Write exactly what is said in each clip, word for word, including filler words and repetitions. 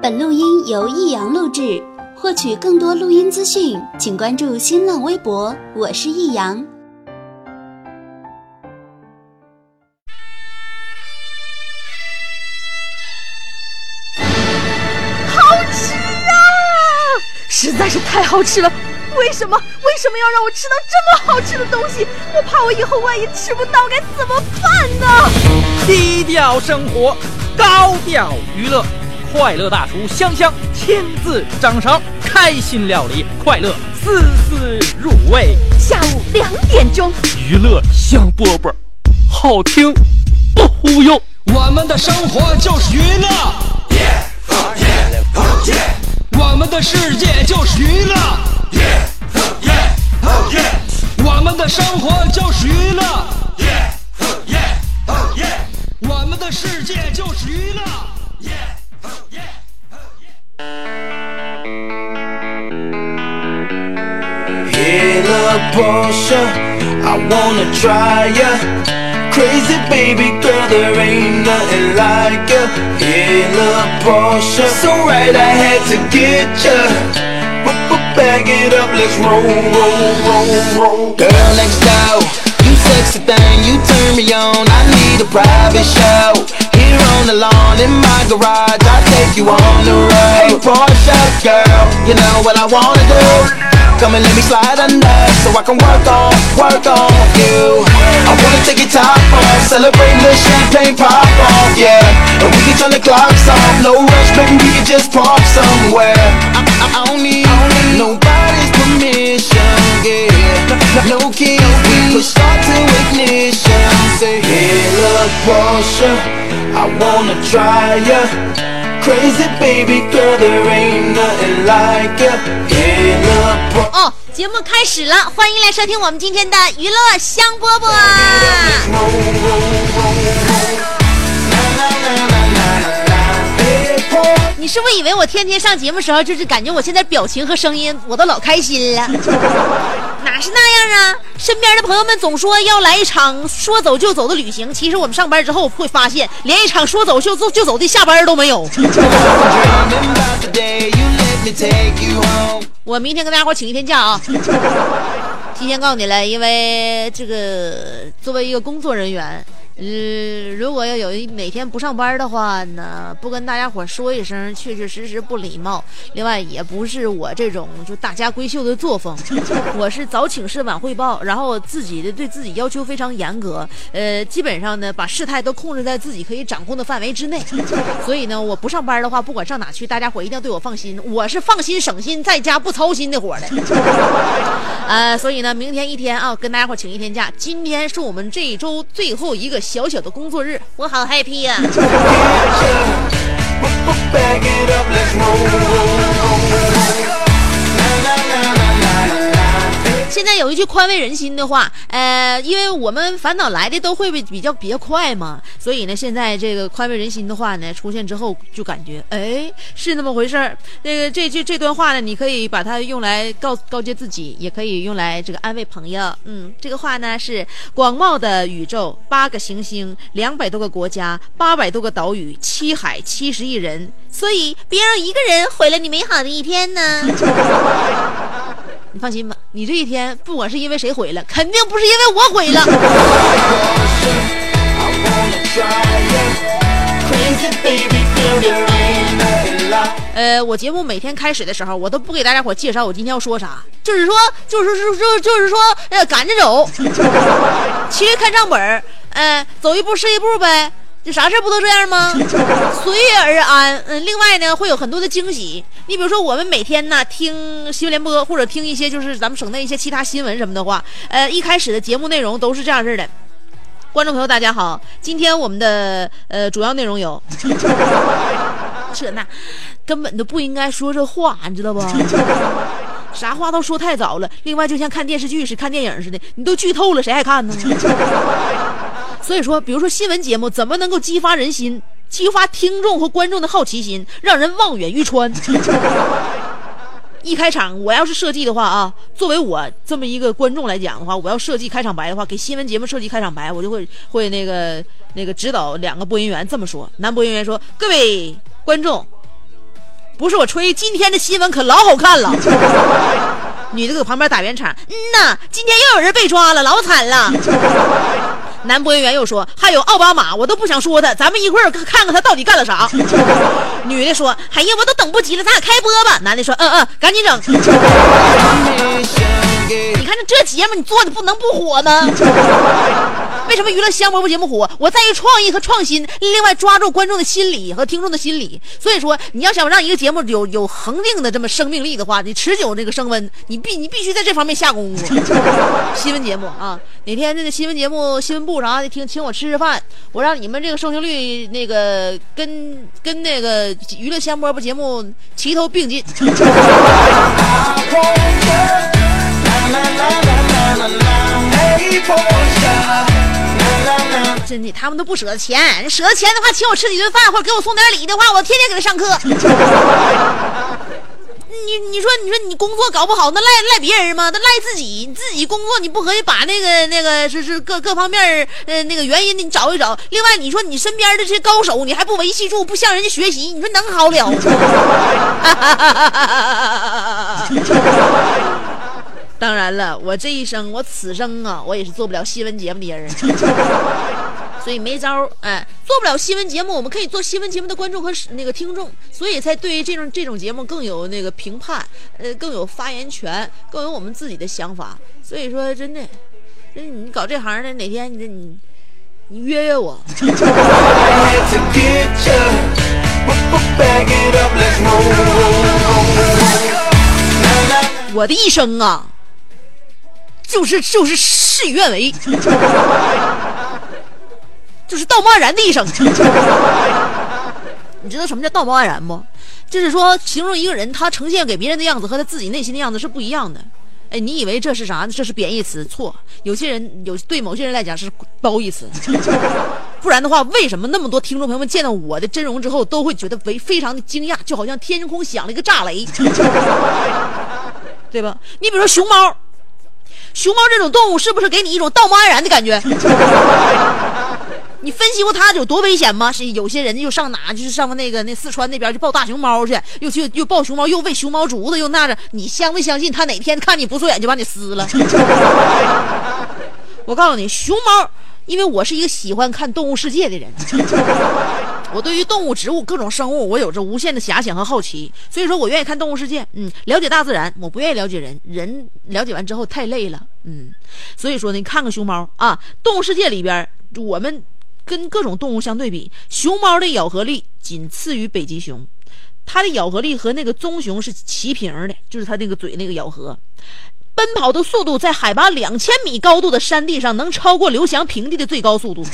本录音由易阳录制，获取更多录音资讯，请关注新浪微博，我是易阳。 好吃啊！实在是太好吃了。为什么为什么要让我吃到这么好吃的东西？我怕我以后万一吃不到该怎么办呢？ 低调生活，高调娱乐，快乐大厨香香亲自掌勺，开心料理，快乐丝丝入味。 下午两点钟， 娱乐香饽饽，好听不忽悠。 我们的生活就是娱乐， yeah, oh yeah, oh yeah. 我们的世界就是娱乐。Yeah, oh yeah, oh yeah. 我们的生活就是娱乐。Yeah, oh yeah, oh yeah. 我们的世界就是娱乐。Yeah, oh yeah, oh yeah. Hey, little Portia, I wanna try ya. Crazy baby girl, there ain't nothing like ya. Hey, little Portia, so right I had to get ya. Bag it up, let's roll, roll, roll, roll. Girl next door, you sexy thing, you turn me on. I need a private show. Here on the lawn in my garage, I'll take you on the road. Hey, Portia girl, you know what I wanna do. Come and let me slide under, so I can work on, work on you. I wanna take your top off, celebrate the champagne pop off, yeah. And we can turn the clocks off, no rush, baby, we can just park somewhere. I, I, I don't need nobody's permission, yeah. No key, we push start to ignition. Say, hey, look, Portia, I wanna try ya. Crazy baby girl, there ain't nothing like ya. Hey, look, Portia. 哦，节目开始了，欢迎来收听我们今天的娱乐香饽饽。你是不是以为我天天上节目时候就是感觉我现在表情和声音我都老开心了？哪是那样啊？身边的朋友们总说要来一场说走就走的旅行，其实我们上班之后会发现连一场说走就走就走的下班都没有。我明天跟大家伙请一天假啊！提前告诉你了，因为这个作为一个工作人员，呃，如果要有一哪天不上班的话呢，不跟大家伙说一声，确确实实不礼貌。另外，也不是我这种就大家闺秀的作风，我是早请示晚汇报，然后自己的对自己要求非常严格，呃，基本上呢把事态都控制在自己可以掌控的范围之内。所以呢，我不上班的话，不管上哪去，大家伙一定要对我放心，我是放心省心，在家不操心的伙的。呃，所以呢，明天一天啊，跟大家伙请一天假。今天是我们这一周最后一个小小的工作日，我好 happy 呀、现在有一句宽慰人心的话，呃，因为我们烦恼来的都会比较比较快嘛，所以呢，现在这个宽慰人心的话呢出现之后，就感觉哎是那么回事儿。这个这句这段话呢，你可以把它用来告告诫自己，也可以用来这个安慰朋友。嗯，这个话呢是广袤的宇宙，八个行星，两百多个国家，八百多个岛屿，七海七十亿人，所以别让一个人毁了你美好的一天呢。你放心吧，你这一天不管是因为谁毁了，肯定不是因为我毁了。呃，我节目每天开始的时候，我都不给大家伙介绍我今天要说啥，就是说，就是说，就是就是说，呃，赶着走，其实看账本，呃，走一步是一步呗。这啥事不都这样吗？随遇而安。嗯，另外呢，会有很多的惊喜。你比如说，我们每天呢听新闻联播，或者听一些就是咱们省内一些其他新闻什么的话，呃，一开始的节目内容都是这样式的。观众朋友大家好，今天我们的呃主要内容有，这那根本都不应该说这话，你知道不？啥话都说太早了。另外，就像看电视剧似的、看电影似的，你都剧透了，谁还看呢？所以说，比如说新闻节目怎么能够激发人心，激发听众和观众的好奇心，让人望远欲穿？一开场我要是设计的话啊，作为我这么一个观众来讲的话，我要设计开场白的话，给新闻节目设计开场白，我就会会那个那个指导两个播音员这么说。男播音员说：“各位观众， 不是我吹，今天的新闻可老好看了。女的搁旁边打圆场，嗯呐，今天又有人被抓了，老惨了。男播音员又说，还有奥巴马，我都不想说他，咱们一会儿看看他到底干了啥。女的说，哎呀，我都等不及了，咱俩开播吧。男的说，嗯嗯，赶紧整。你看这节目你做的不能不火吗？为什么娱乐香饽饽节目火？我在于创意和创新，另外抓住观众的心理和听众的心理。所以说，你要想让一个节目有有恒定的这么生命力的话，你持久这个升温，你必你必须在这方面下功夫。新闻节目啊，哪天这个新闻节目、新闻部啥的，听请我吃吃饭，我让你们这个收听率那个跟跟那个娱乐香饽饽节目齐头并进。真的，他们都不舍得钱，舍得钱的话，请我吃几顿饭，或者给我送点礼的话，我天天给他上课。你你说你说你工作搞不好，那赖赖别人吗？那赖自己，你自己工作你不可以把那个那个是是各各方面呃那个原因你找一找。另外你说你身边的这些高手，你还不维系住，不向人家学习，你说能好了吗？当然了，我这一生，我此生啊，我也是做不了新闻节目的人，所以没招。哎，做不了新闻节目，我们可以做新闻节目的观众和那个听众，所以才对于这种这种节目更有那个评判，呃，更有发言权，更有我们自己的想法。所以说，真的，真你搞这行的，哪天你你你约约我。我的一生啊。就是就是事与愿违，就是道貌岸然的一生。你知道什么叫道貌岸然不？就是说形容一个人他呈现给别人的样子和他自己内心的样子是不一样的。哎，你以为这是啥？这是贬义词？错，有些人有对某些人来讲是褒义词。不然的话，为什么那么多听众朋友们见到我的真容之后都会觉得非非常的惊讶，就好像天空响了一个炸雷，对吧？你比如说熊猫。熊猫这种动物是不是给你一种道貌岸然的感觉？你分析过它有多危险吗？是有些人就上哪，就是上那个那四川那边去抱大熊猫去，又去又抱熊猫，又喂熊猫竹子，又那着。你相不相信他哪天看你不顺眼就把你撕了？我告诉你，熊猫，因为我是一个喜欢看动物世界的人。我对于动物、植物、各种生物，我有着无限的遐想和好奇，所以说我愿意看动物世界，嗯，了解大自然，我不愿意了解人，人了解完之后太累了，嗯，所以说呢，看看熊猫啊，动物世界里边，我们跟各种动物相对比，熊猫的咬合力仅次于北极熊，它的咬合力和那个棕熊是齐平的，就是它那个嘴那个咬合。奔跑的速度在海拔两千米高度的山地上能超过刘翔平地的最高速度。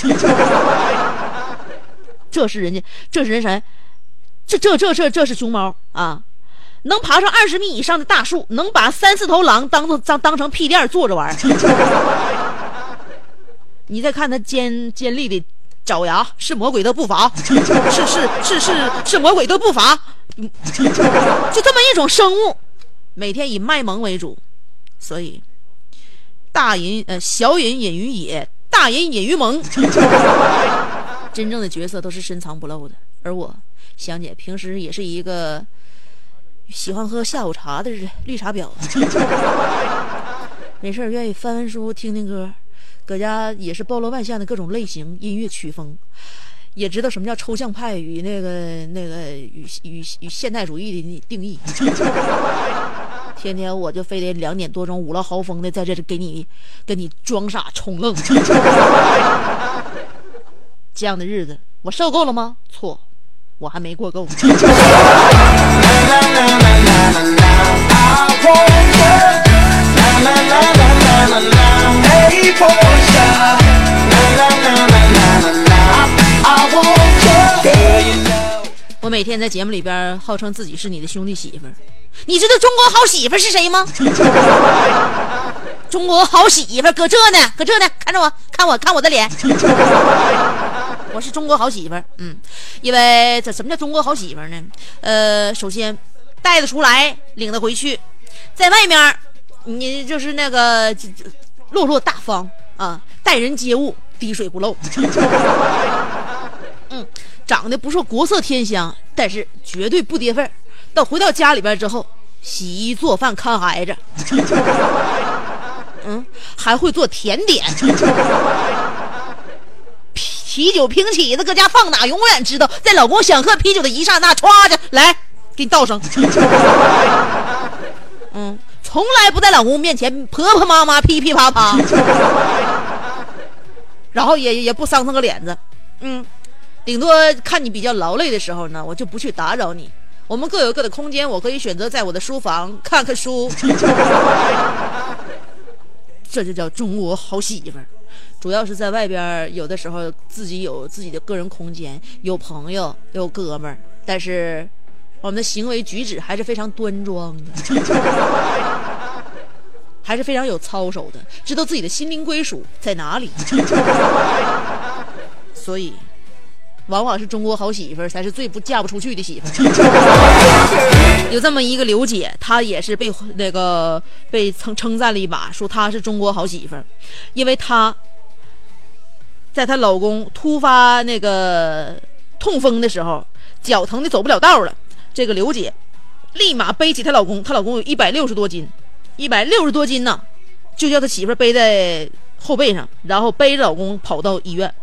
这是人家，这是人谁？这这这这这是熊猫啊！能爬上二十米以上的大树，能把三四头狼当做当当成屁垫坐着玩。你再看它尖尖利的爪牙，是魔鬼的步伐，是是是是是魔鬼的步伐。就这么一种生物，每天以卖萌为主，所以大隐呃小隐隐于野，大隐隐于萌。真正的角色都是深藏不露的，而我香姐平时也是一个喜欢喝下午茶的绿茶婊，没事愿意翻翻书听听歌，搁家也是包罗万象的各种类型音乐曲风，也知道什么叫抽象派与那个那个与与与现代主义的定义。天天我就非得两点多钟五了豪风的在这里给你跟你装傻充愣。这样的日子我受够了吗？错，我还没过够。我每天在节目里边号称自己是你的兄弟媳妇儿，你知道中国好媳妇是谁吗？中国好媳妇搁这呢，搁这呢，看着我，看我，看我的脸。我是中国好媳妇儿，嗯，因为这什么叫中国好媳妇儿呢？呃，首先带得出来，领得回去，在外面你就是那个落落大方啊，待人接物滴水不漏。嗯，长得不说国色天香，但是绝对不跌份儿。 到回到家里边之后，洗衣做饭看孩子，嗯，还会做甜点，啤酒瓶起子搁家放哪，永远知道在老公想喝啤酒的一刹那，歘着来给你倒上。嗯，从来不在老公面前婆婆妈妈噼噼啪啪，然后也也不伤他个脸子。嗯，顶多看你比较劳累的时候呢，我就不去打扰你，我们各有各的空间，我可以选择在我的书房看看书。这就叫中国好媳妇儿。主要是在外边，有的时候自己有自己的个人空间，有朋友，有哥们儿，但是我们的行为举止还是非常端庄的，还是非常有操守的，知道自己的心灵归属在哪里。所以往往是中国好媳妇儿才是最不嫁不出去的媳妇儿。有这么一个刘姐，她也是被那个被称称赞了一把，说她是中国好媳妇儿，因为她在她老公突发那个痛风的时候，脚疼的走不了道了，这个刘姐立马背起她老公，她老公有一百六十多斤，一百六十多斤呢，就叫她媳妇儿背在后背上，然后背着老公跑到医院。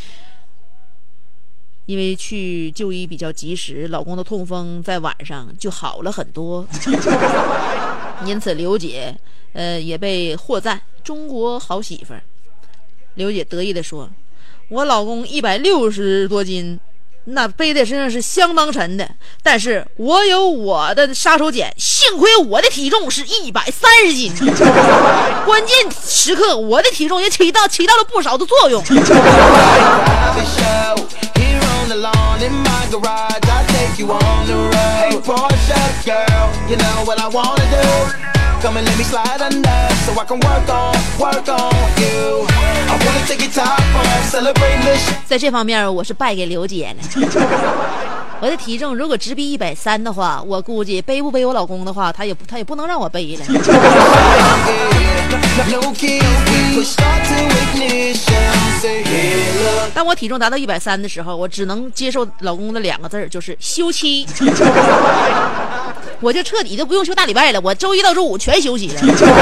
因为去就医比较及时，老公的痛风在晚上就好了很多，因此刘姐呃也被获赞中国好媳妇儿。刘姐得意地说，我老公一百六十多斤，那背在身上是相当沉的，但是我有我的杀手锏，幸亏我的体重是一百三十斤，关键时刻我的体重也起到起到了不少的作用。In my garage, I take you on the road. Hey Porsche girl, you know what I wanna do. Come and let me slide under, so I can work on, work on you. I wanna take your top off, celebrate this. 在这方面我是败给刘姐了。我的体重如果直逼一百三的话，我估计背不背我老公的话，他也他也不能让我背了。当我体重达到一百三的时候，我只能接受老公的两个字，就是休妻。我就彻底就不用休大礼拜了，我周一到周五全休息了。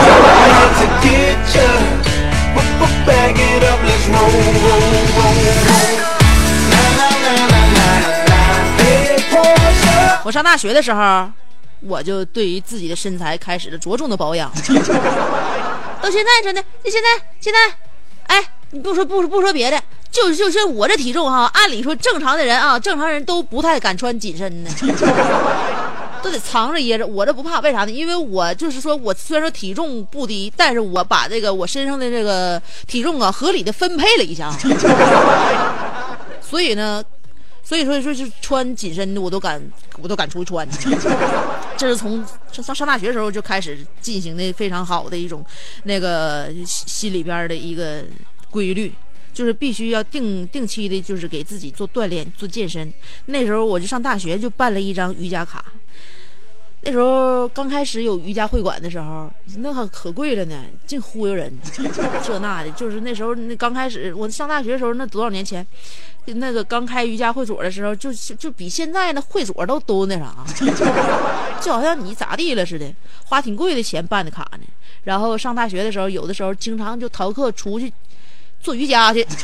我上大学的时候，我就对于自己的身材开始了着重的保养。到现在真的，就现在现在，哎，你不说不说不说别的，就就是我这体重哈，按理说正常的人啊，正常人都不太敢穿紧身的，都得藏着掖着。我这不怕，为啥呢？因为我就是说我虽然说体重不低，但是我把这个我身上的这个体重啊合理的分配了一下，所以呢。所以说，说是穿紧身的，我都敢，我都敢出去穿。这是从上上大学的时候就开始进行的非常好的一种那个心里边的一个规律，就是必须要定定期的，就是给自己做锻炼、做健身。那时候我就上大学就办了一张瑜伽卡。那时候刚开始有瑜伽会馆的时候，那可可贵了呢，净忽悠人，这那的。就是那时候那刚开始，我上大学的时候，那多少年前，那个刚开瑜伽会所的时候，就就比现在那会所都都那啥，就好像你咋地了似的，花挺贵的钱办的卡呢。然后上大学的时候，有的时候经常就逃课出去做瑜伽去，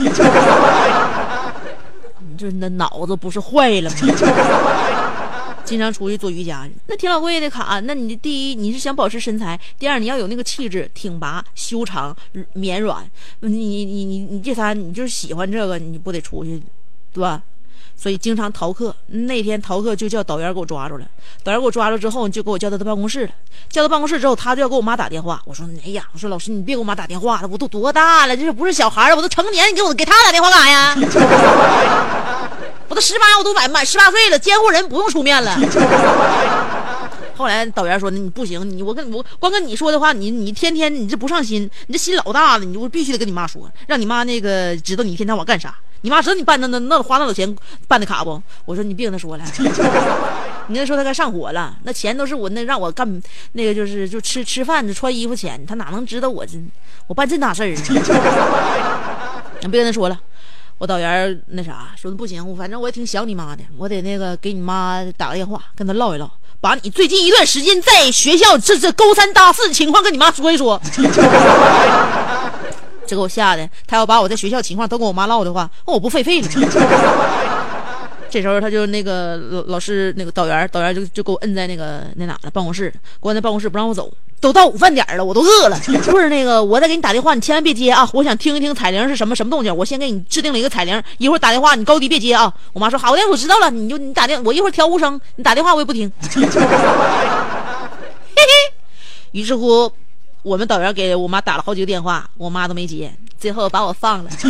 你这那脑子不是坏了吗？经常出去做瑜伽，那挺老贵的卡。那你第一你是想保持身材，第二你要有那个气质，挺拔、修长、绵软。你你你你你这仨你就是喜欢这个，你不得出去，对吧？所以经常逃课。那天逃课就叫导员给我抓住了，导员给我抓住之后就给我叫到他办公室了。叫到办公室之后，他就要给我妈打电话。我说哎呀，我说老师你别给我妈打电话了，我都多大了，这不是小孩了，我都成年，你给我给他打电话干啥呀？我都十八，我都满满十八岁了，监护人不用出面了。后来导员说：“你不行，你我跟我光跟你说的话，你你天天你这不上心，你这心老大了，你我必须得跟你妈说，让你妈那个知道你一天到晚干啥。你妈知道你办那那那花那老钱办的卡不？”我说：“你别跟他说了，你跟他说他该上火了，那钱都是我那让我干那个就是就吃吃饭穿衣服钱，他哪能知道我这我办这大事儿？你别跟他说了。” 我导员那啥说不行，反正我也挺想你妈的，我得那个给你妈打个电话，跟她唠一唠，把你最近一段时间在学校这这勾三搭四的情况跟你妈说一说。这给我吓的，他要把我在学校情况都跟我妈唠的话，我不废废了。这时候他就那个老老师那个导员导员就就给我摁在那个那哪了办公室，给我在办公室不让我走，都到午饭点了，我都饿了。不是那个我再给你打电话，你千万别接啊！我想听一听彩铃是什么什么动静，我先给你制定了一个彩铃，一会儿打电话你高低别接啊！我妈说好的，我知道了，你就你打电我一会儿调无声，你打电话我也不听。嘿嘿，于是乎我们导员给我妈打了好几个电话，我妈都没接，最后把我放了。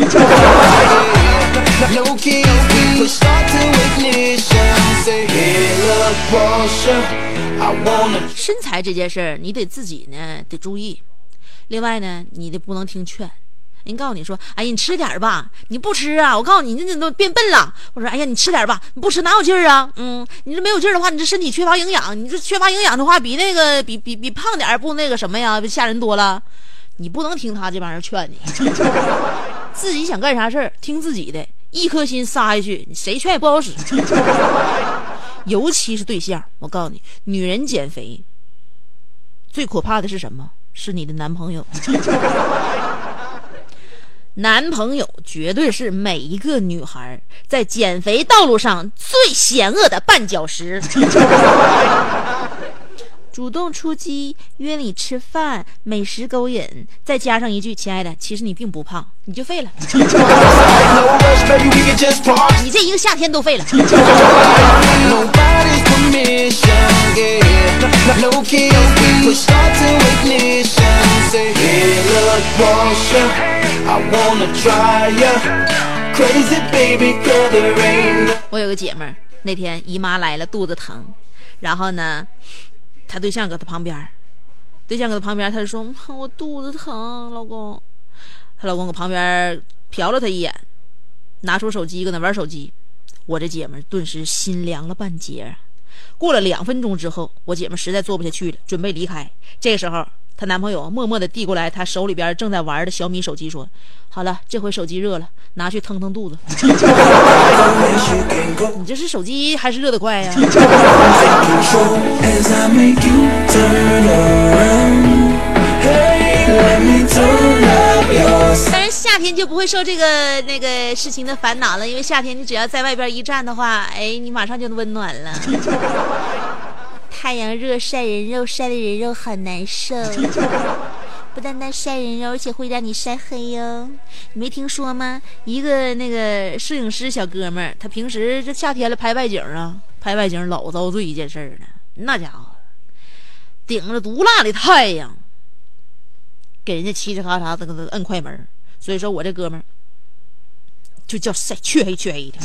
身材这件事儿，你得自己呢得注意。另外呢，你得不能听劝。人告诉你说，哎呀，你吃点吧，你不吃啊，我告诉你，你这都变笨了。我说，哎呀，你吃点吧，你不吃哪有劲儿啊？嗯，你这没有劲儿的话，你这身体缺乏营养，你这缺乏营养的话，比那个比比比胖点不那个什么呀，吓人多了。你不能听他这帮人劝你，自己想干啥事儿听自己的，一颗心撒下去，谁劝也不好使。尤其是对象，我告诉你，女人减肥最可怕的是什么？是你的男朋友。男朋友绝对是每一个女孩在减肥道路上最险恶的绊脚石。主动出击，约你吃饭，美食勾引，再加上一句亲爱的，其实你并不胖，你就废了。你这一个夏天都废了。我有个姐妹儿，那天姨妈来了，肚子疼，然后呢他对象搁他旁边，对象搁他旁边，他就说我肚子疼，老公。他老公搁旁边瞟了他一眼，拿出手机搁那玩手机。我这姐们顿时心凉了半截。过了两分钟之后，我姐们实在做不下去了，准备离开。这个时候她男朋友默默地递过来她手里边正在玩的小米手机，说好了，这回手机热了，拿去腾腾肚子。你这是手机还是热得快呀？当然夏天就不会受这个那个事情的烦恼了，因为夏天你只要在外边一站的话，哎，你马上就温暖了。太阳热晒人肉，晒的人肉好难受，不单单晒人肉，而且会让你晒黑哟。你没听说吗？一个那个摄影师小哥们儿，他平时这夏天了拍外景啊，拍外景老遭罪一件事呢。那家伙顶着毒辣的太阳，给人家嘁哧咔嚓这个摁快门。所以说我这哥们儿就叫晒黢黑黢黑的。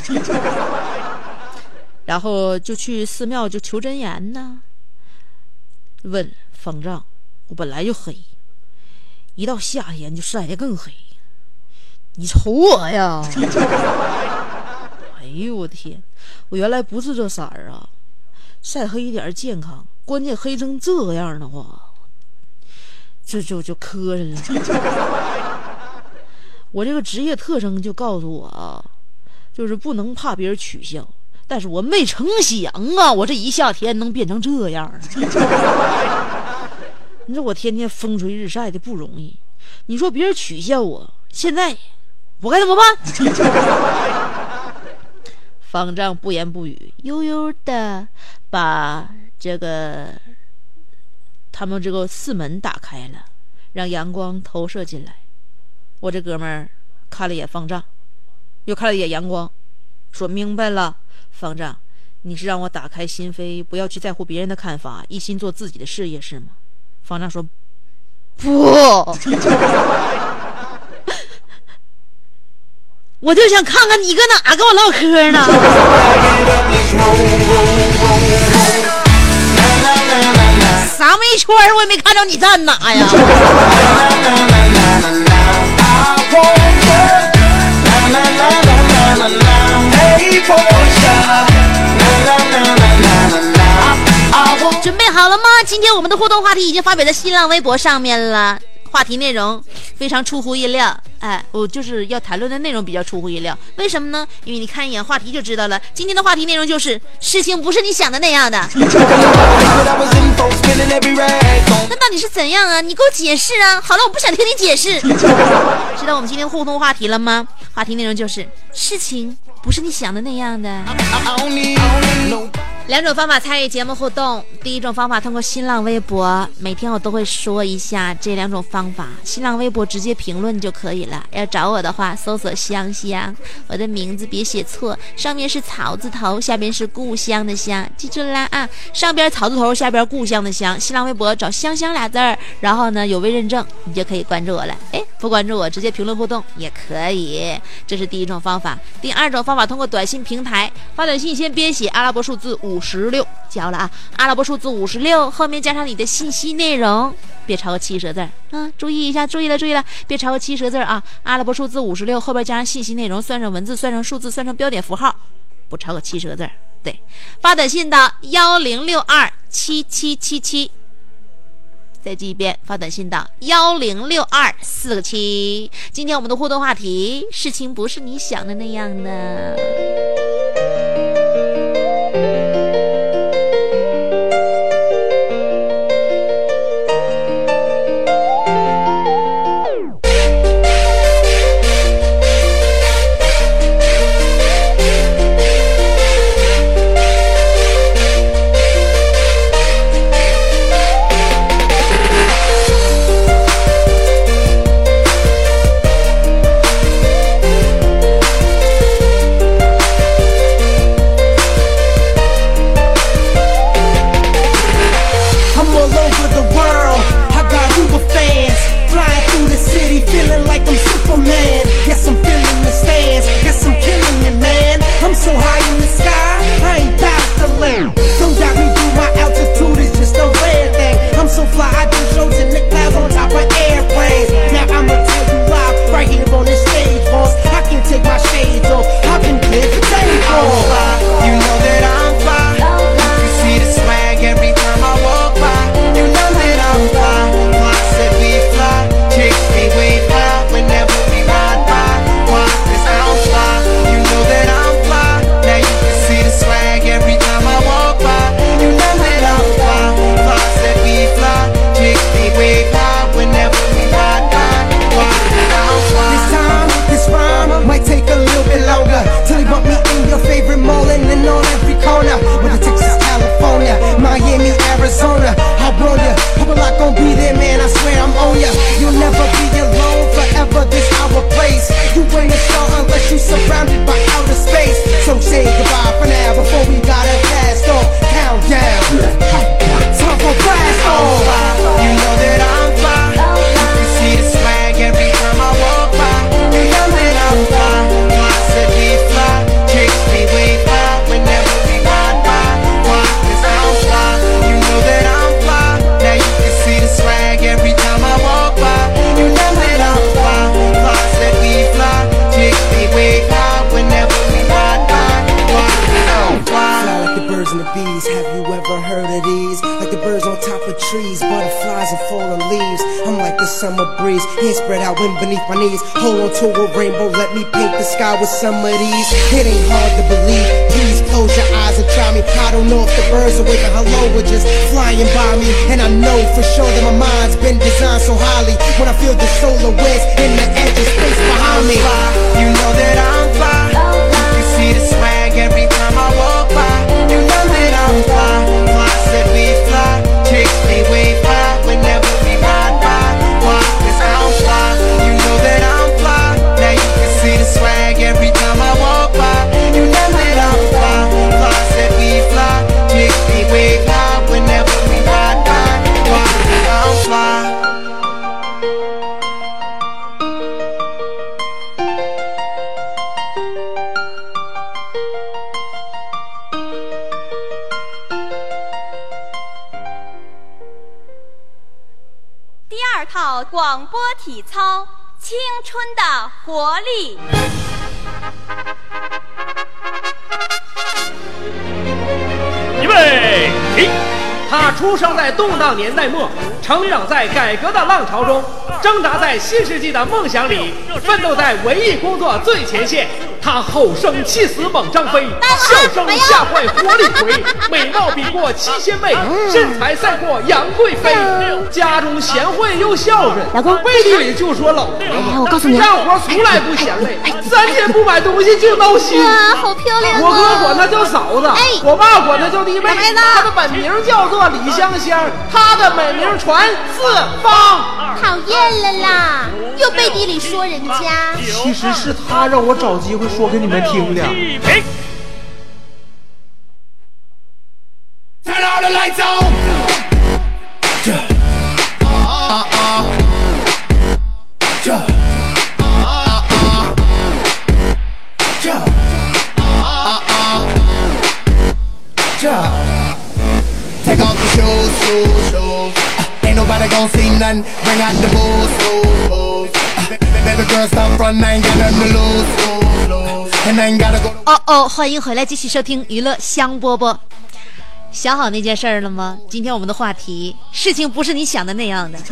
然后就去寺庙就求真言呢，问方丈，我本来就黑，一到夏天就晒得更黑，你瞅我呀。哎呦我天，我原来不是这色儿啊，晒黑一点健康，关键黑成这样的话，这就就磕碜了。我这个职业特征就告诉我啊，就是不能怕别人取笑，但是我没成想啊，我这一夏天能变成这样。你说我天天风吹日晒的不容易，你说别人取笑我，现在我该怎么办？方丈不言不语，悠悠的把这个他们这个寺门打开了，让阳光投射进来。我这哥们儿看了一眼方丈，又看了一眼阳光，说明白了，方丈，你是让我打开心扉，不要去在乎别人的看法，一心做自己的事业是吗？方丈说不，我就想看看你搁哪跟我唠嗑呢。啥没圈我也没看着你站哪呀。准备好了吗？今天我们的互动话题已经发表在新浪微博上面了， 话题内容非常出乎意料，哎，我就是要谈论的内容比较出乎意料。为什么呢？因为你看一眼话题就知道了。今天的话题内容就是事情不是你想的那样的。那到底是怎样啊？你给我解释啊！好了，我不想听你解释。知道我们今天互动话题了吗？话题内容就是事情不是你想的那样的。两种方法参与节目互动，第一种方法通过新浪微博，每天我都会说一下这两种方法。新浪微博直接评论就可以了，要找我的话搜索香香，我的名字别写错，上面是草字头，下边是故乡的乡，记住啦啊！上边草字头，下边故乡的乡。新浪微博找香香俩字儿，然后呢有微认证，你就可以关注我了。哎，不关注我直接评论互动也可以，这是第一种方法。第二种方法通过短信平台发短信，先编写阿拉伯数字五十六，教了啊！阿拉伯数字五十六后面加上你的信息内容，别超过七十个字啊！注意一下，注意了，注意了，别超过七十个字啊！阿拉伯数字五十六后边加上信息内容，算上文字，算上数字，算上标点符号，不超过七十个字。对，发短信到幺零六二七七七七。再记一遍，发短信到幺零六二四个七。今天我们的互动话题：事情不是你想的那样的。 Beneath my knees, hold on to a rainbow, let me paint the sky with some of these. It ain't hard to believe, please close your eyes and try me. I don't know if the birds are waving hello or just flying by me. And I know for sure that my mind's been designed so highly. When I feel the solar winds in the edge of space behind me, you know that I'm fly. You see the swag every time I walk by. You know that I'm fly. Fly said we fly, chicks they wave high whenever we ride by. Why? 'Cause I'm fly. See the swag every time I walk by. You know that I'm fly. Fly said we fly. Chicks they wave high whenever we ride by. Why? I'm fly. 第二套广播体操。青春的活力。 预备起， 他出生在动荡年代末，成长在改革的浪潮中，挣扎在新世纪的梦想里，奋斗在文艺工作最前线。他吼声气死猛张飞，笑声吓坏活李逵，美貌比过七仙妹，身材赛过杨贵妃。家中贤惠又孝顺， 老公背地里就说老婆子。 哎，我告诉你， 干活从来不嫌累，三天不买东西就闹心。 哇，好漂亮！ 我哥管她叫嫂子， 哎， 我爸管她叫弟妹。她的本名叫做李香香，她的美名传四方。 讨厌了啦，又背地里说人家。 其实是他让我找机会说给你们听的。 Turn all the lights on. Take off the shoes, shoes, shoes. Ain't nobody gon' see nothing. Bring out the booze, booze, booze. Baby girl, stop front, I ain't got nothing to lose, lose, lose. And I ain't gotta go. 哦哦，欢迎回来，继续收听娱乐香饽饽。想好那件事儿了吗？今天我们的话题，事情不是你想的那样的。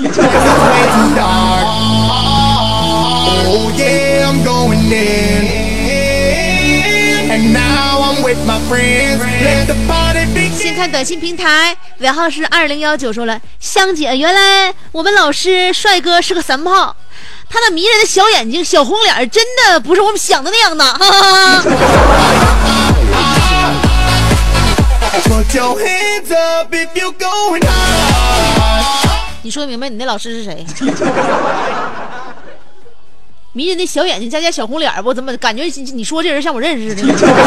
Oh yeah, I'm going in. And now I'm with my friends. Let the party begin. 先看短信平台，尾号是二零幺九说了，香姐，原来我们老师帅哥是个三炮，他那迷人的小眼睛、小红脸，真的不是我们想的那样的。哈哈 Put your hands up if you're going high. 你说明白你那老师是谁？迷人的小眼睛加加小红脸，我怎么感觉你说这人像我认识的？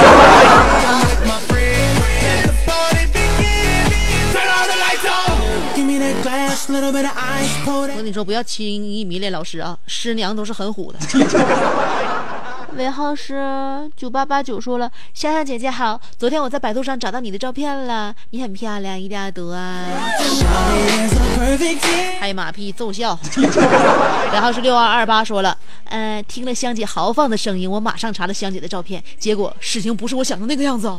我跟你说，不要轻易迷恋老师啊，师娘都是很虎的。尾号是九八八九说了，香香姐姐好，昨天我在百度上找到你的照片了，你很漂亮，一定要得啊！拍马屁奏效。尾号是六二二八说了，呃，听了香姐豪放的声音，我马上查了香姐的照片，结果事情不是我想的那个样子。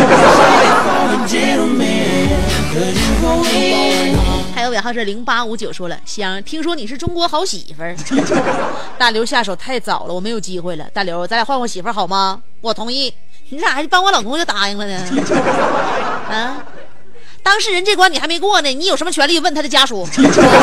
还有尾号是零八五九说了，香，听说你是中国好媳妇儿。大刘下手太早了，我没有机会了。大刘，咱俩换换媳妇儿好吗？我同意。你咋还帮我老公就答应了呢？啊，当事人这关你还没过呢，你有什么权利问他的家属？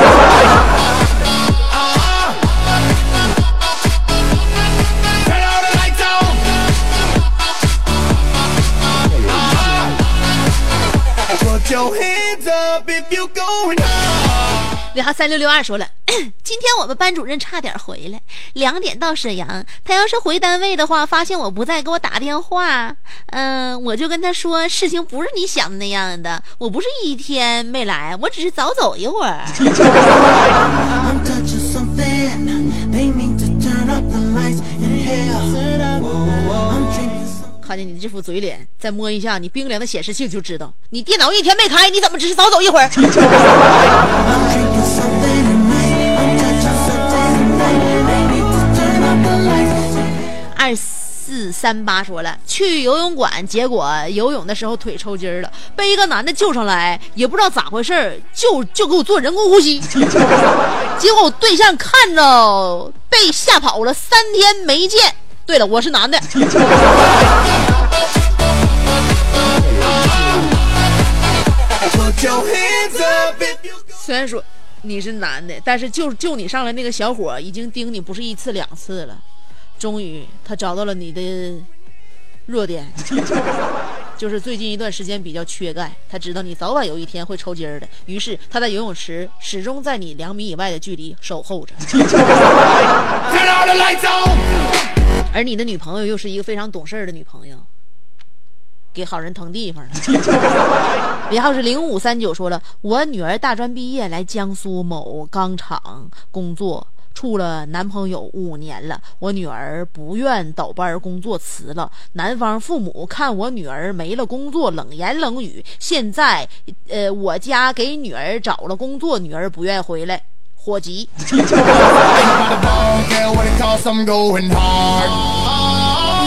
尾号三六六二说了，今天我们班主任差点回来，两点到沈阳，他要是回单位的话，发现我不在，给我打电话，嗯、呃，我就跟他说，事情不是你想的那样的，我不是一天没来，我只是早走一会儿。看见你这副嘴脸，再摸一下你冰凉的显示器就知道，你电脑一天没开，你怎么只是早走一会儿？二四三八说了，去游泳馆，结果游泳的时候腿抽筋了，被一个男的救上来，也不知道咋回事，就就给我做人工呼吸，结果我对象看着被吓跑了，三天没见。对了，我是男的。虽然说你是男的，但是就就你上来那个小伙已经盯你不是一次两次了，终于他找到了你的弱点，就是最近一段时间比较缺钙，他知道你早晚有一天会抽筋的，于是他在游泳池始终在你两米以外的距离守候着。而你的女朋友又是一个非常懂事的女朋友，给好人腾地方了。尾号是零五三九说了，我女儿大专毕业来江苏某钢厂工作，处了男朋友五年了，我女儿不愿倒班工作辞了，男方父母看我女儿没了工作冷言冷语，现在呃我家给女儿找了工作，女儿不愿回来，火急。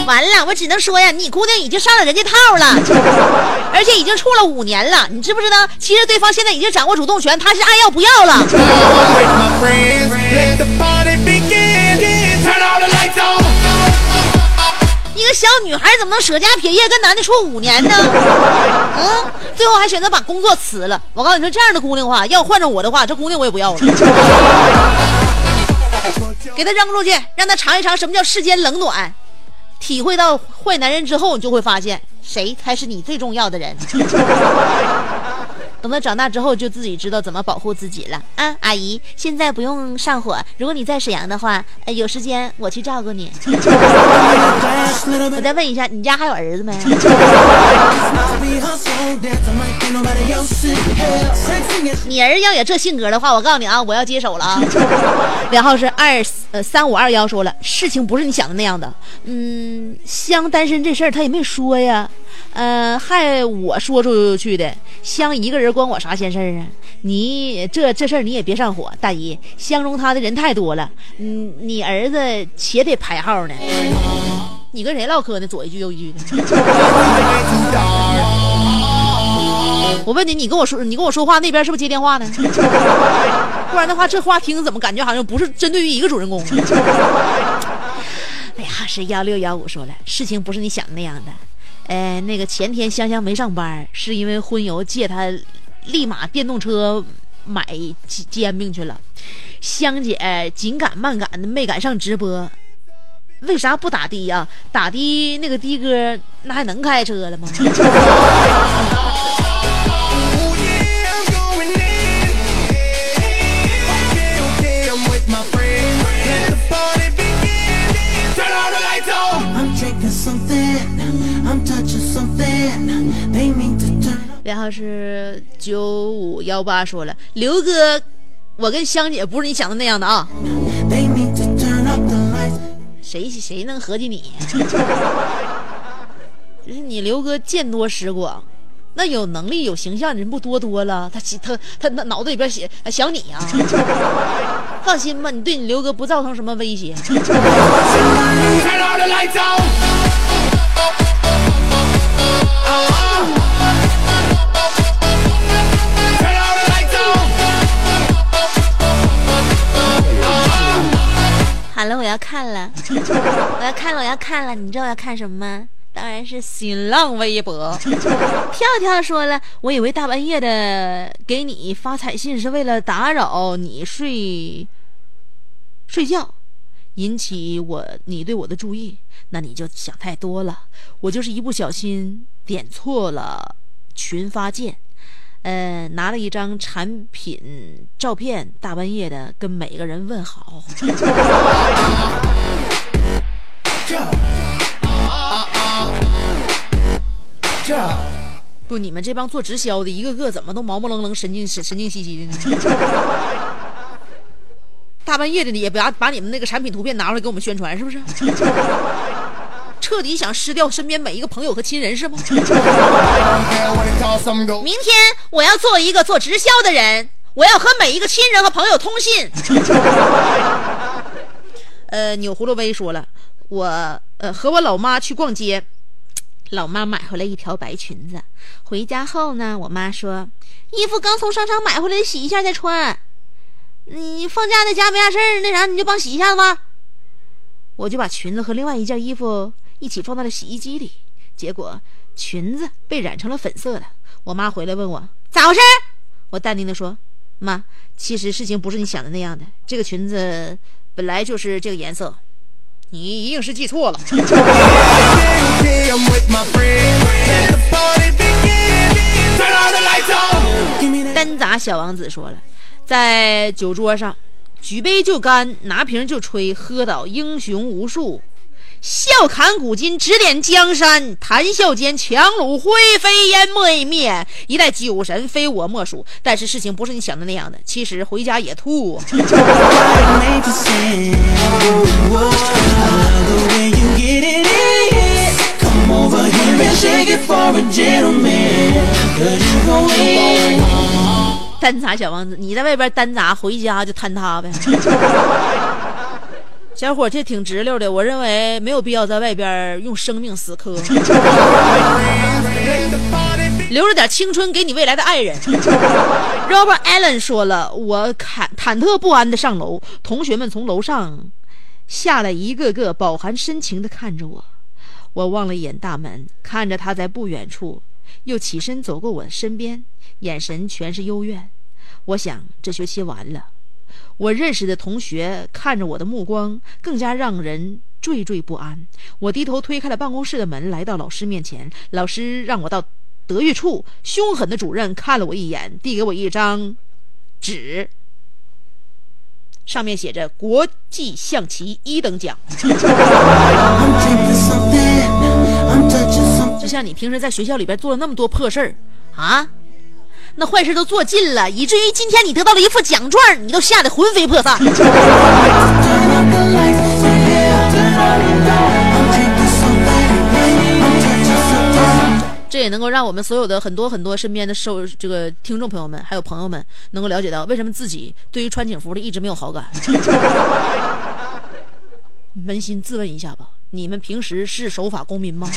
完了，我只能说呀，你姑娘已经上了人家套了，而且已经处了五年了，你知不知道？其实对方现在已经掌握主动权，他是爱要不要了。一个小女孩怎么能舍家撇业跟男的处五年呢？嗯，最后还选择把工作辞了。我告诉你说，这样的姑娘的话，要换成我的话，这姑娘我也不要了。给她扔出去，让她尝一尝什么叫世间冷暖，体会到坏男人之后，你就会发现谁才是你最重要的人。等他长大之后，就自己知道怎么保护自己了啊！阿姨，现在不用上火，如果你在沈阳的话，呃，有时间我去照顾你。我再问一下，你家还有儿子没？你儿要有这性格的话，我告诉你啊，我要接手了啊！然后是二呃三五二幺说了，事情不是你想的那样的。嗯，香单身这事儿他也没说呀。呃，害我说出去的，香一个人关我啥闲事儿啊？你这这事儿你也别上火，大姨，相中他的人太多了，嗯，你儿子且得排号呢。你跟谁唠嗑呢？左一句右一句的。我问你，你跟我说，你跟我说话那边是不是接电话呢？不然的话，这话听怎么感觉好像不是针对于一个主人公？哎呀，是幺六幺五说了，事情不是你想的那样的。呃，那个前天香香没上班，是因为婚友借她立马电动车买煎饼去了。香姐紧赶慢赶的没赶上直播，为啥不打的呀？打的那个的哥那还能开车了吗？然后是九五幺八说了，刘哥，我跟香姐不是你想的那样的啊。谁谁能合计你？就是你刘哥见多识广，那有能力有形象的人不多多了，他他他他脑子里边想想你啊。放心吧，你对你刘哥不造成什么威胁。好了，我要看了，我要看了，我要看了，你知道我要看什么吗？当然是新浪微博。跳跳说了，我以为大半夜的给你发彩信是为了打扰你睡睡觉，引起我你对我的注意，那你就想太多了。我就是一不小心点错了群发键，呃，拿了一张产品照片，大半夜的跟每个人问好。不，你们这帮做直销的，一个个怎么都毛毛愣愣、神经神经兮兮的呢？大半夜的，你也不要把你们那个产品图片拿出来给我们宣传，是不是？彻底想失掉身边每一个朋友和亲人，是吗？明天我要做一个做直销的人，我要和每一个亲人和朋友通信。呃，钮葫芦威说了，我呃和我老妈去逛街，老妈买回来一条白裙子，回家后呢，我妈说衣服刚从商场买回来，洗一下再穿。你放假在家没啥事儿，那啥你就帮洗一下子吧。我就把裙子和另外一件衣服一起放到了洗衣机里，结果裙子被染成了粉色的。我妈回来问我咋回事，我淡定的说，妈，其实事情不是你想的那样的，这个裙子本来就是这个颜色，你一定是记错了。单砸小王子说了，在酒桌上举杯就干，拿瓶就吹，喝倒英雄无数，笑砍古今，指点江山，谈笑间强弩灰飞烟灭灭，一代酒神非我莫属。但是事情不是你想的那样的，其实回家也吐。单砸小王子，你在外边单砸，回家就坍塌呗。 小伙这挺直溜的，我认为没有必要在外边用生命死磕，留着点青春给你未来的爱人。Robert Allen 说了，我忐忐忑不安的上楼，同学们从楼上下来，一个个饱含深情地看着我。我望了一眼大门，看着他在不远处，又起身走过我身边，眼神全是幽怨。我想这学期完了，我认识的同学看着我的目光更加让人惴惴不安。我低头推开了办公室的门，来到老师面前。老师让我到德育处，凶狠的主任看了我一眼，递给我一张纸，上面写着国际象棋一等奖。就像你平时在学校里边做了那么多破事儿啊，那坏事都做尽了，以至于今天你得到了一副奖状，你都吓得魂飞魄散。这也能够让我们所有的很多很多身边的受这个听众朋友们还有朋友们能够了解到，为什么自己对于穿警服的一直没有好感。扪心自问一下吧，你们平时是守法公民吗？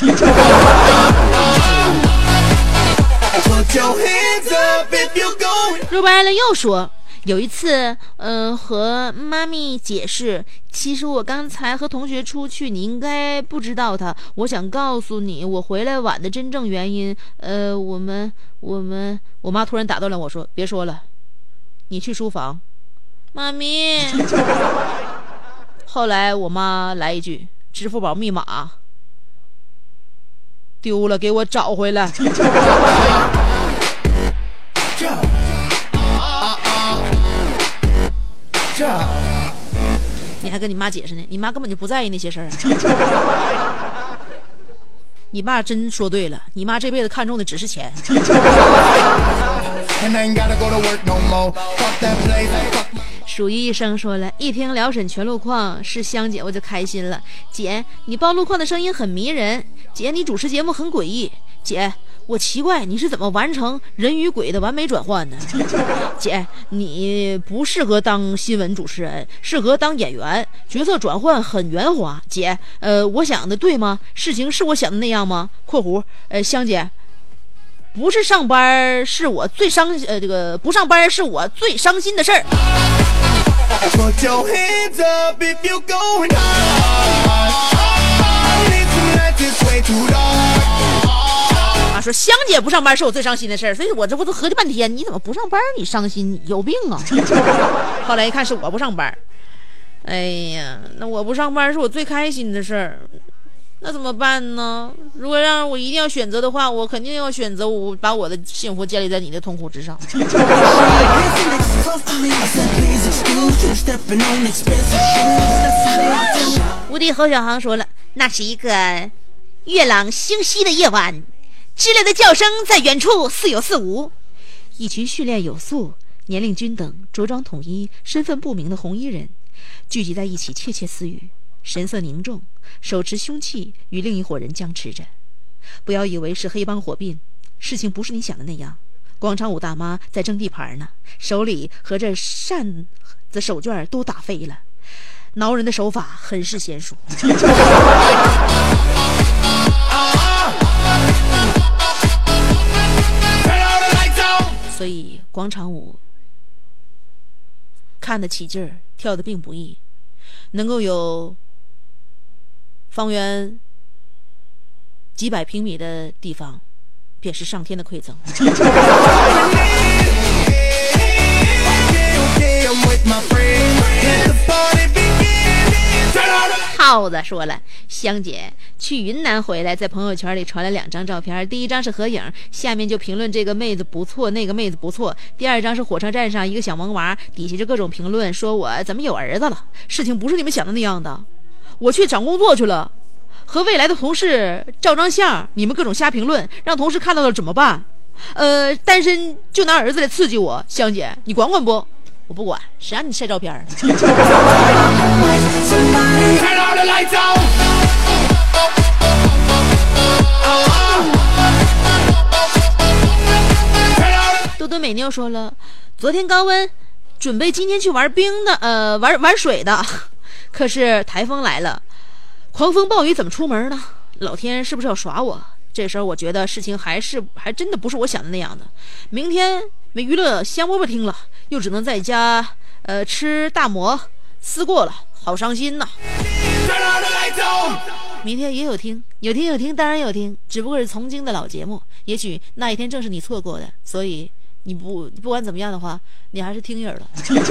若白了又说，有一次嗯、呃，和妈咪解释，其实我刚才和同学出去，你应该不知道他，我想告诉你我回来晚的真正原因。呃我们我们我妈突然打断了我说，别说了，你去书房。妈咪。后来我妈来一句，支付宝密码丢了，给我找回来。你还跟你妈解释呢，你妈根本就不在意那些事儿。你爸真说对了，你妈这辈子看中的只是钱。数一生说了，一听辽沈全路况是香姐我就开心了。姐，你报路况的声音很迷人。姐，你主持节目很诡异。姐，我奇怪你是怎么完成人与鬼的完美转换的。姐，你不适合当新闻主持人，适合当演员，角色转换很圆滑。姐，呃，我想的对吗？事情是我想的那样吗？括弧，呃，香姐，不是上班是我最伤呃这个不上班是我最伤心的事儿。啊，说香姐不上班是我最伤心的事儿，所以我这不都合计半天，你怎么不上班你伤心，你有病啊。后来一看是我不上班，哎呀，那我不上班是我最开心的事儿，那怎么办呢？如果让我一定要选择的话，我肯定要选择我把我的幸福建立在你的痛苦之上。无敌侯小航说了，那是一个月朗星稀的夜晚，知了的叫声在远处似有似无，一群训练有素、年龄均等、着装统一、身份不明的红衣人聚集在一起窃窃私语，神色凝重，手持凶器与另一伙人僵持着。不要以为是黑帮火并，事情不是你想的那样。广场舞大妈在争地盘呢，手里和这扇子手绢都打飞了，挠人的手法很是娴熟。所以广场舞看得起劲儿，跳得并不易，能够有方圆几百平米的地方，便是上天的馈赠。耗子说了，香姐去云南回来，在朋友圈里传了两张照片，第一张是合影，下面就评论这个妹子不错，那个妹子不错。第二张是火车站上一个小萌娃，底下就各种评论，说我怎么有儿子了。事情不是你们想的那样的，我去找工作去了，和未来的同事照张相，你们各种瞎评论，让同事看到了怎么办？呃，单身就拿儿子来刺激我，香姐你管管不？我不管，谁让你晒照片？多多美妞说了，昨天高温，准备今天去玩冰的，呃，玩玩水的， 可是台风来了，狂风暴雨怎么出门呢？老天是不是要耍我？这时候我觉得事情还是还真的不是我想的那样的。明天没娱乐香饽饽听了，又只能在家呃吃大馍思过了，好伤心呐。明天也有听，有听有听，当然有听，只不过是从京的老节目，也许那一天正是你错过的，所以你不不管怎么样的话，你还是听人了。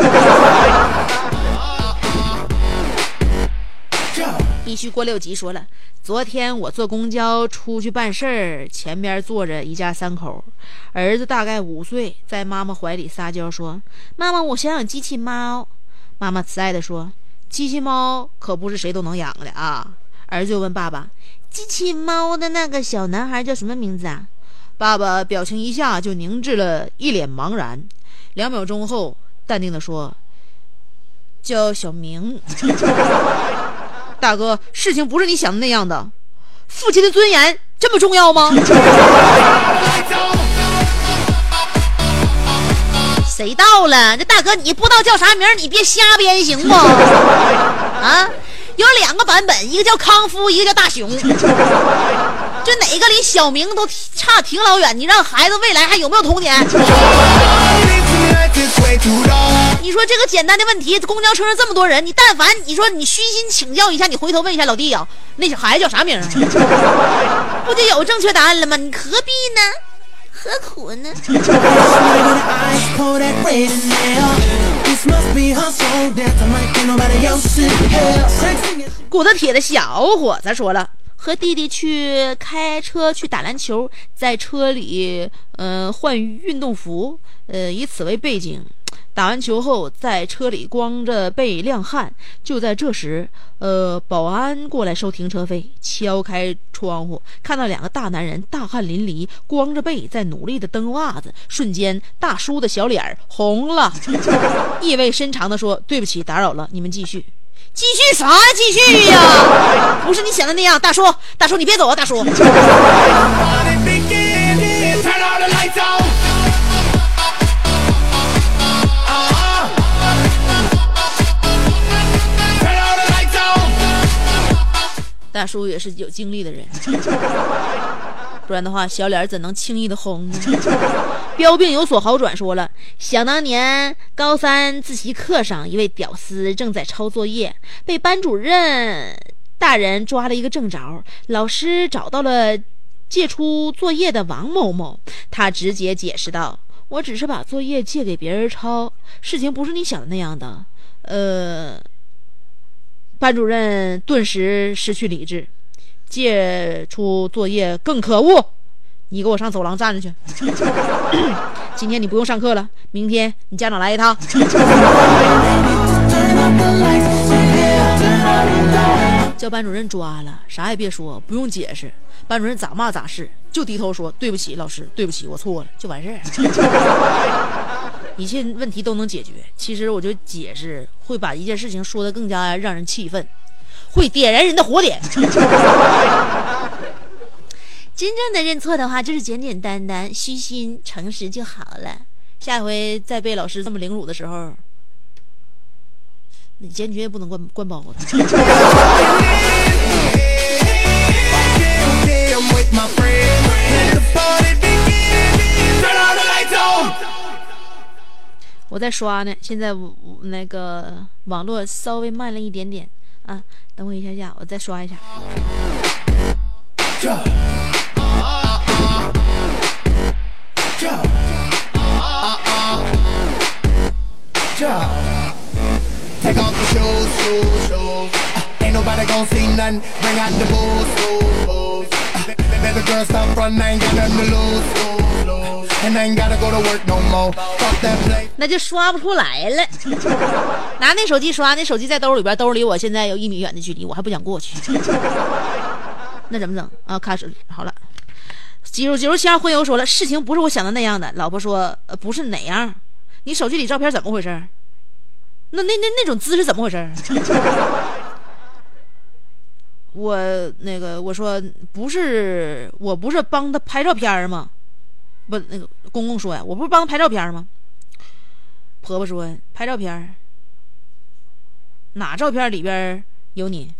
必须过六级说了，昨天我坐公交出去办事儿，前边坐着一家三口，儿子大概五岁，在妈妈怀里撒娇说：“妈妈，我想养机器猫。”妈妈慈爱地说：“机器猫可不是谁都能养的啊。”儿子就问爸爸：“机器猫的那个小男孩叫什么名字啊？”爸爸表情一下就凝滞了，一脸茫然。两秒钟后，淡定地说：“叫小明。”大哥，事情不是你想的那样的，父亲的尊严这么重要吗？谁到了？这大哥你不知道叫啥名，你别瞎编行不？啊，有两个版本，一个叫康夫，一个叫大熊。这哪个离小明都差挺老远，你让孩子未来还有没有童年？你说这个简单的问题，公交车上这么多人，你但凡你说你虚心请教一下，你回头问一下老弟啊，那小孩子叫啥名啊？不就有正确答案了吗？你何必呢？何苦呢？骨头铁的小伙子说了，和弟弟去开车去打篮球，在车里呃换运动服，呃以此为背景。打完球后，在车里光着背晾汗。就在这时，呃，保安过来收停车费，敲开窗户，看到两个大男人大汗淋漓，光着背在努力的蹬袜子。瞬间，大叔的小脸红了，意味深长地说：“对不起，打扰了，你们继续。”继续啥继续呀？不是你想的那样，大叔，大叔你别走啊，大叔。大叔也是有经历的人，不然的话小脸怎能轻易的红呢？标病有所好转说了，想当年高三自习课上，一位屌丝正在抄作业，被班主任大人抓了一个正着。老师找到了借出作业的王某某，他直接解释道：“我只是把作业借给别人抄，事情不是你想的那样的。”呃。班主任顿时失去理智，借出作业更可恶，你给我上走廊站着去。今天你不用上课了，明天你家长来一趟。叫班主任抓了，啥也别说，不用解释，班主任咋骂咋是，就低头说：“对不起，老师，对不起，我错了”，就完事儿。一切问题都能解决。其实我觉得解释会把一件事情说得更加让人气愤，会点燃人的火点。真正的认错的话，就是简简单单、虚心、诚实就好了。下回再被老师这么凌辱的时候，你坚决不能关关包子。我在刷呢，现在那个网络稍微慢了一点点啊，等我一下下，我再刷一下。那就刷不出来了。拿那手机刷，那手机在兜里边，兜里我现在有一米远的距离，我还不想过去。那怎么整啊？开始好了。几如几如七号婚友说了，事情不是我想的那样的。老婆说，呃，不是哪样？你手机里照片怎么回事？那那那那种姿势怎么回事？我那个我说不是，我不是帮他拍照片吗？不，那个公公说呀，我不是帮他拍照片吗？婆婆说拍照片， 哪照片里边有你？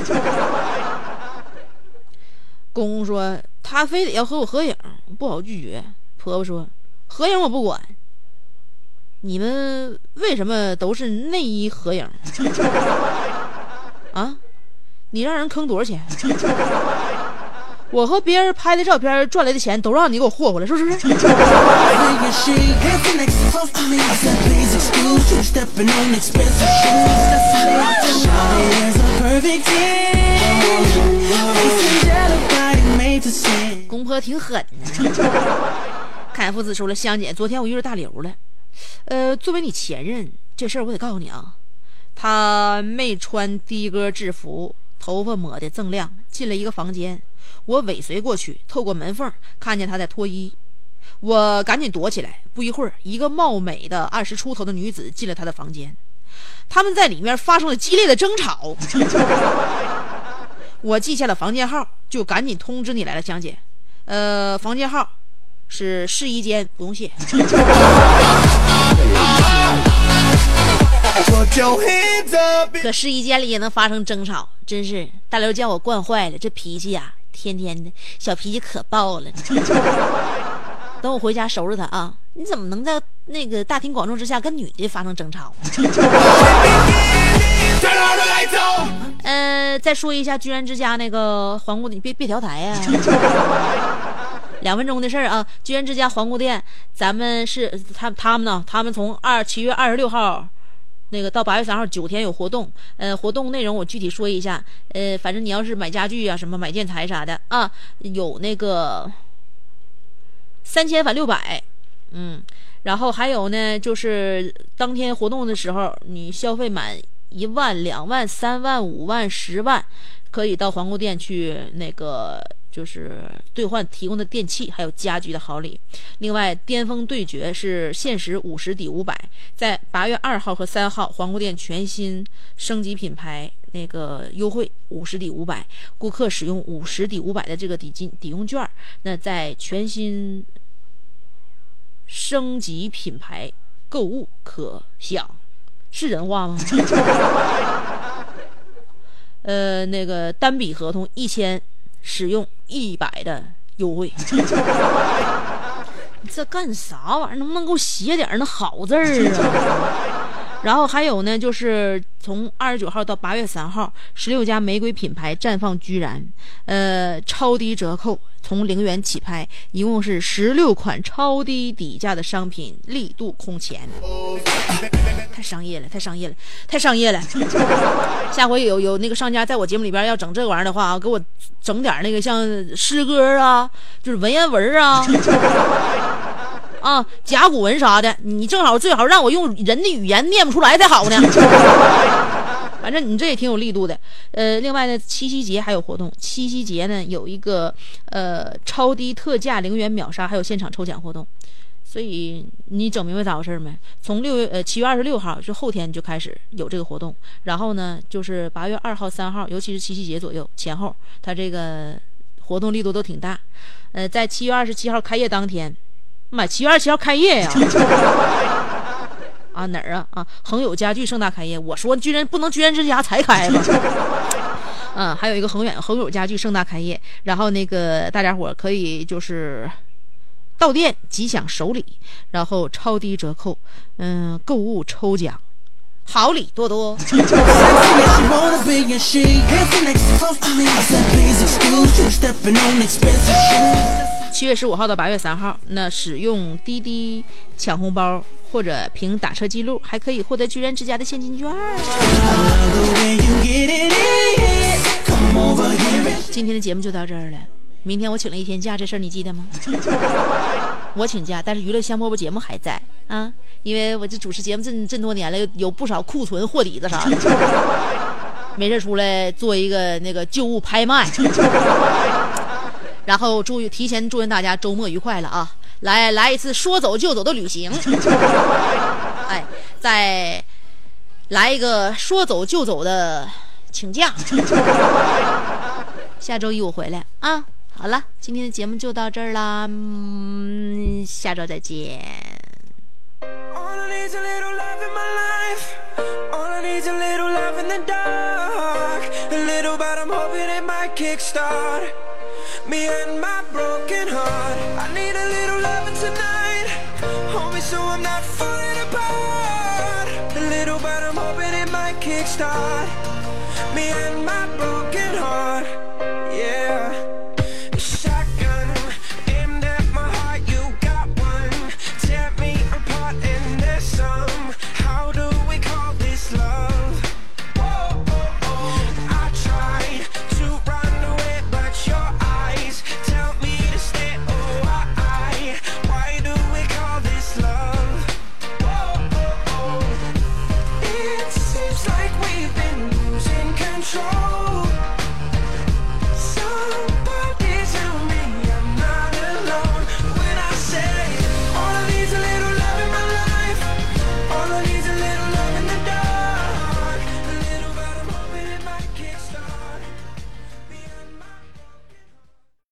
公公说他非得要和我合影，不好拒绝。婆婆说合影我不管，你们为什么都是内衣合影？啊，你让人坑多少钱？我和别人拍的照片赚来的钱都让你给我霍霍了，是不是？公婆挺狠的。看父子说了，香姐，昨天我遇到大刘了。呃，作为你前任，这事儿我得告诉你啊，他没穿的哥制服，头发抹得锃亮，进了一个房间。我尾随过去，透过门缝看见他在脱衣，我赶紧躲起来。不一会儿，一个貌美的二十出头的女子进了他的房间，他们在里面发生了激烈的争吵。我记下了房间号，就赶紧通知你来了，香姐。呃，房间号是试衣间，不用谢。可试衣间里也能发生争吵，真是大刘将我惯坏了，这脾气呀、啊，天天的小脾气可爆了。等我回家收拾他啊！你怎么能在那个大庭广众之下跟女的发生争吵？呃，再说一下居然之家那个皇姑，你别别调台呀、啊！两分钟的事儿啊！居然之家皇姑店，咱们是他他们呢，他们从二七月二十六号。那个到八月三号九天有活动，呃，活动内容我具体说一下，呃，反正你要是买家具啊、什么买建材啥的啊，有那个三千返六百，嗯，然后还有呢，就是当天活动的时候，你消费满一万、两万、三万、五万、十万，可以到皇姑店去那个。就是兑换提供的电器还有家居的好礼。另外巅峰对决是限时五十抵五百，在八月二号和三号皇姑店全新升级品牌那个优惠五十抵五百，顾客使用五十抵五百的这个抵金抵用券，那在全新升级品牌购物可享，是人话吗？呃，那个单笔合同一千。使用一百的优惠，你这干啥玩意儿？能不能给我写点那好字儿啊？然后还有呢，就是从二十九号到八月三号，十六家玫瑰品牌绽放居然，呃，超低折扣，从零元起拍，一共是十六款超低底价的商品，力度空前。太商业了，太商业了，太商业了！下回有有那个商家在我节目里边要整这玩意儿的话啊，给我整点那个像诗歌啊，就是文言文啊，啊甲骨文啥的，你正好最好让我用人的语言念不出来才好呢。反正你这也挺有力度的。呃，另外呢，七夕节还有活动，七夕节呢有一个呃超低特价零元秒杀，还有现场抽奖活动。所以你整明白咋回事没？从六月呃七月二十六号就后天就开始有这个活动，然后呢就是八月二号、三号，尤其是七夕节左右前后，它这个活动力度都挺大。呃，在七月二十七号开业当天，妈，七月二十七号开业呀！啊哪儿啊啊！恒友家具盛大开业，我说居然不能居然之家才开吧？嗯，还有一个恒远恒友家具盛大开业，然后那个大家伙可以就是。到店即享首礼，然后超低折扣，嗯，购物抽奖，好礼多多。七月十五号到八月三号，那使用滴滴抢红包或者凭打车记录，还可以获得居然之家的现金券。今天的节目就到这儿了。明天我请了一天假，这事儿你记得吗？我请假，但是娱乐香饽饽节目还在啊，因为我这主持节目这这多年了，有不少库存货底子啥的，没事出来做一个那个旧物拍卖。然后祝提前祝愿大家周末愉快了啊！来来一次说走就走的旅行，哎，再来一个说走就走的请假。下周一我回来啊。好了，今天的节目就到这儿啦，嗯，下周再见。All I need is a little love in my life. All I need is a little love in the kickstart. Me and my broken heart. I need a little loving tonight. Hold me so I'm not falling apart. A little but I'm hoping it might kickstart. Me and my broken heart.